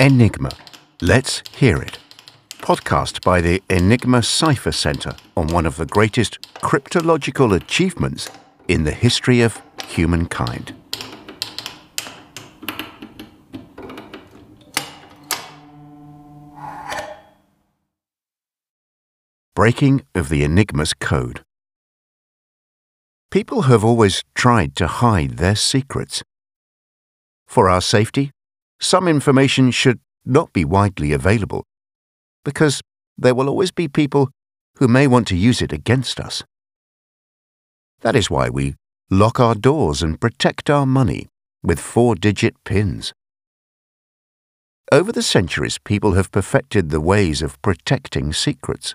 Enigma. Let's hear it. Podcast by the Enigma Cipher Center on one of the greatest cryptological achievements in the history of humankind. Breaking of the Enigma's code. People have always tried to hide their secrets. For our safety, some information should not be widely available, because there will always be people who may want to use it against us. That is why we lock our doors and protect our money with 4-digit pins. Over the centuries, people have perfected the ways of protecting secrets.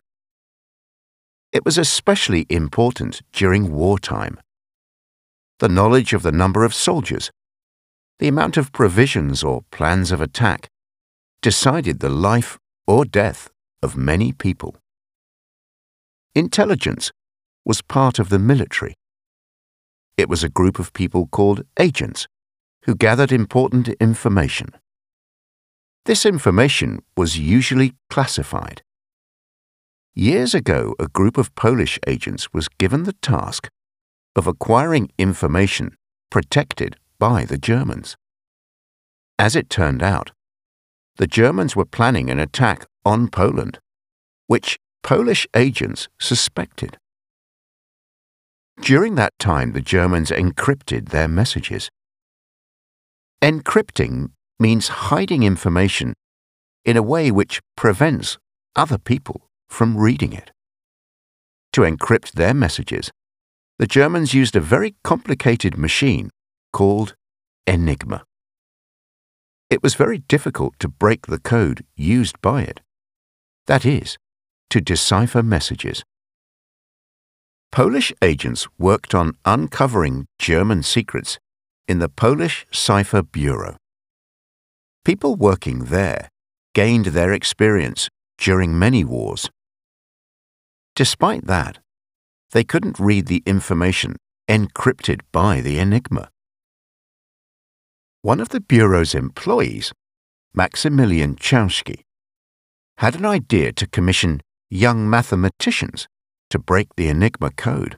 It was especially important during wartime. The knowledge of the number of soldiers, the amount of provisions or plans of attack, decided the life or death of many people. Intelligence was part of the military. It was a group of people called agents who gathered important information. This information was usually classified. Years ago, a group of Polish agents was given the task of acquiring information protected by the Germans. As it turned out, the Germans were planning an attack on Poland, which Polish agents suspected. During that time, the Germans encrypted their messages. Encrypting means hiding information in a way which prevents other people from reading it. To encrypt their messages, the Germans used a very complicated machine called Enigma. It was very difficult to break the code used by it. That is, to decipher messages. Polish agents worked on uncovering German secrets in the Polish Cipher Bureau. People working there gained their experience during many wars. Despite that, they couldn't read the information encrypted by the Enigma. One of the Bureau's employees, Maximilian Chauski, had an idea to commission young mathematicians to break the Enigma code.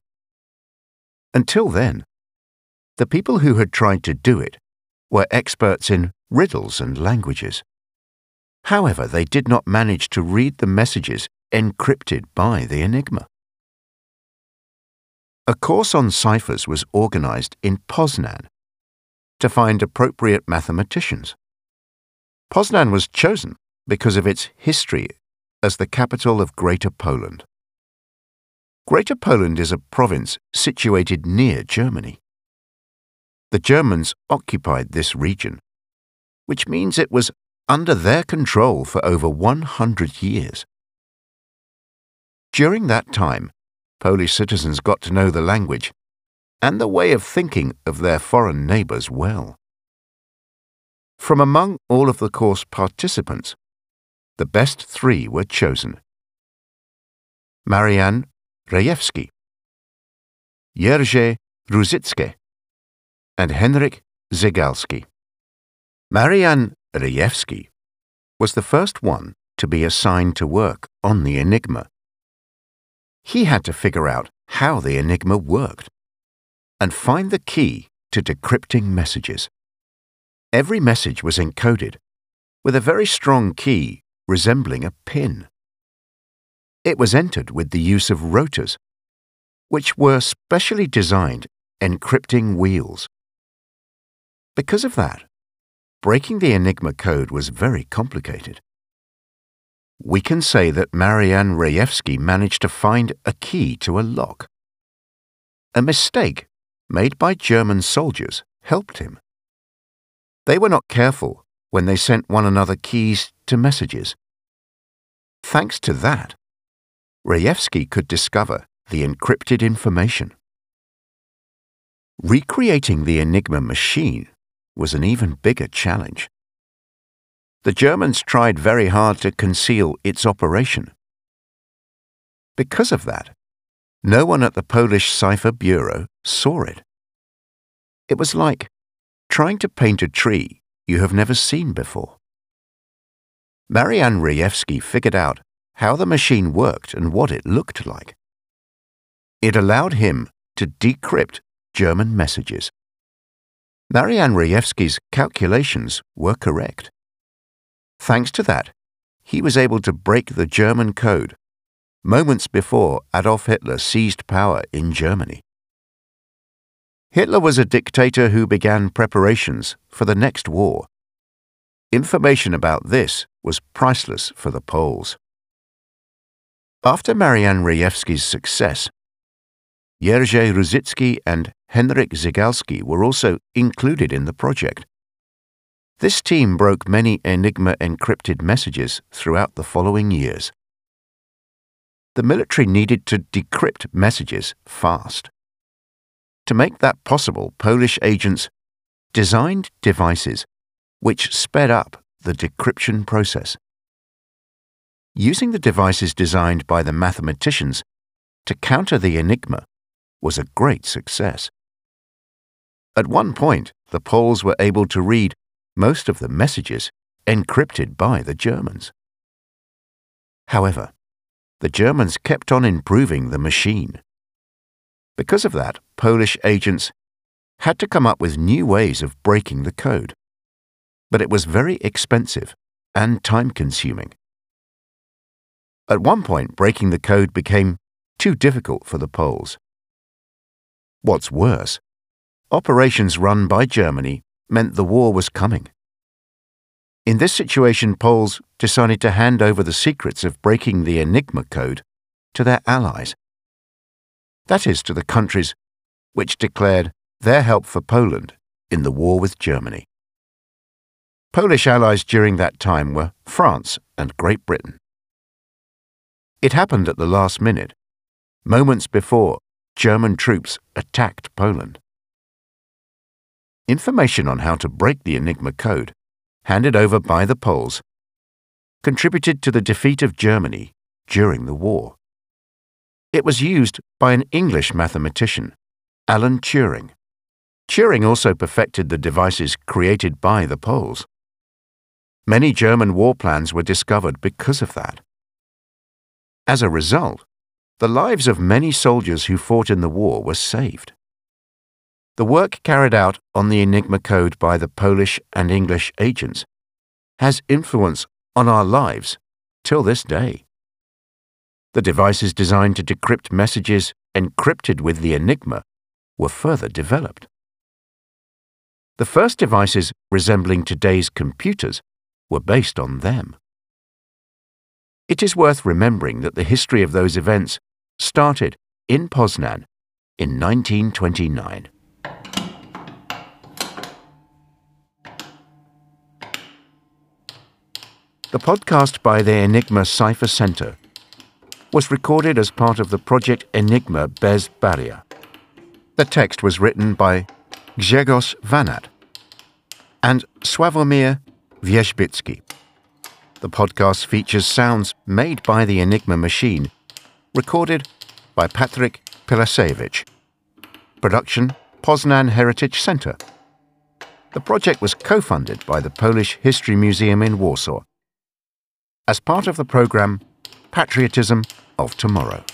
Until then, the people who had tried to do it were experts in riddles and languages. However, they did not manage to read the messages encrypted by the Enigma. A course on ciphers was organized in Poznan to find appropriate mathematicians. Poznan was chosen because of its history as the capital of Greater Poland. Greater Poland is a province situated near Germany. The Germans occupied this region, which means it was under their control for over 100 years. During that time, Polish citizens got to know the language and the way of thinking of their foreign neighbors well. From among all of the course participants, the best 3 were chosen: Marian Rejewski, Jerzy Ruzicki, and Henryk Zygalski. Marian Rejewski was the first one to be assigned to work on the Enigma. He had to figure out how the Enigma worked and find the key to decrypting messages. Every message was encoded with a very strong key resembling a pin. It was entered with the use of rotors, which were specially designed encrypting wheels. Because of that, breaking the Enigma code was very complicated. We can say that Marian Rejewski managed to find a key to a lock. A mistake made by German soldiers helped him. They were not careful when they sent one another keys to messages. Thanks to that, Rejewski could discover the encrypted information. Recreating the Enigma machine was an even bigger challenge. The Germans tried very hard to conceal its operation. Because of that, no one at the Polish Cipher Bureau saw it. It was like trying to paint a tree you have never seen before. Marian Rejewski figured out how the machine worked and what it looked like. It allowed him to decrypt German messages. Marian Rejewski's calculations were correct. Thanks to that, he was able to break the German code moments before Adolf Hitler seized power in Germany. Hitler was a dictator who began preparations for the next war. Information about this was priceless for the Poles. After Marian Rejewski's success, Jerzy Ruzicki and Henryk Zygalski were also included in the project. This team broke many Enigma encrypted messages throughout the following years. The military needed to decrypt messages fast. To make that possible, Polish agents designed devices which sped up the decryption process. Using the devices designed by the mathematicians to counter the Enigma was a great success. At one point, the Poles were able to read most of the messages encrypted by the Germans. However, the Germans kept on improving the machine. Because of that, Polish agents had to come up with new ways of breaking the code. But it was very expensive and time-consuming. At one point, breaking the code became too difficult for the Poles. What's worse, operations run by Germany meant the war was coming. In this situation, Poles decided to hand over the secrets of breaking the Enigma code to their allies. That is, to the countries which declared their help for Poland in the war with Germany. Polish allies during that time were France and Great Britain. It happened at the last minute, moments before German troops attacked Poland. Information on how to break the Enigma code, handed over by the Poles, contributed to the defeat of Germany during the war. It was used by an English mathematician, Alan Turing. Turing also perfected the devices created by the Poles. Many German war plans were discovered because of that. As a result, the lives of many soldiers who fought in the war were saved. The work carried out on the Enigma code by the Polish and English agents has influence on our lives till this day. The devices designed to decrypt messages encrypted with the Enigma were further developed. The first devices resembling today's computers were based on them. It is worth remembering that the history of those events started in Poznan in 1929. The podcast by the Enigma Cipher Center was recorded as part of the Project Enigma Bez Barrier. The text was written by Grzegorz Vanat and Sławomir Wierzbicki. The podcast features sounds made by the Enigma machine, recorded by Patryk Pilasewicz. Production, Poznan Heritage Center. The project was co-funded by the Polish History Museum in Warsaw as part of the program Patriotism of Tomorrow.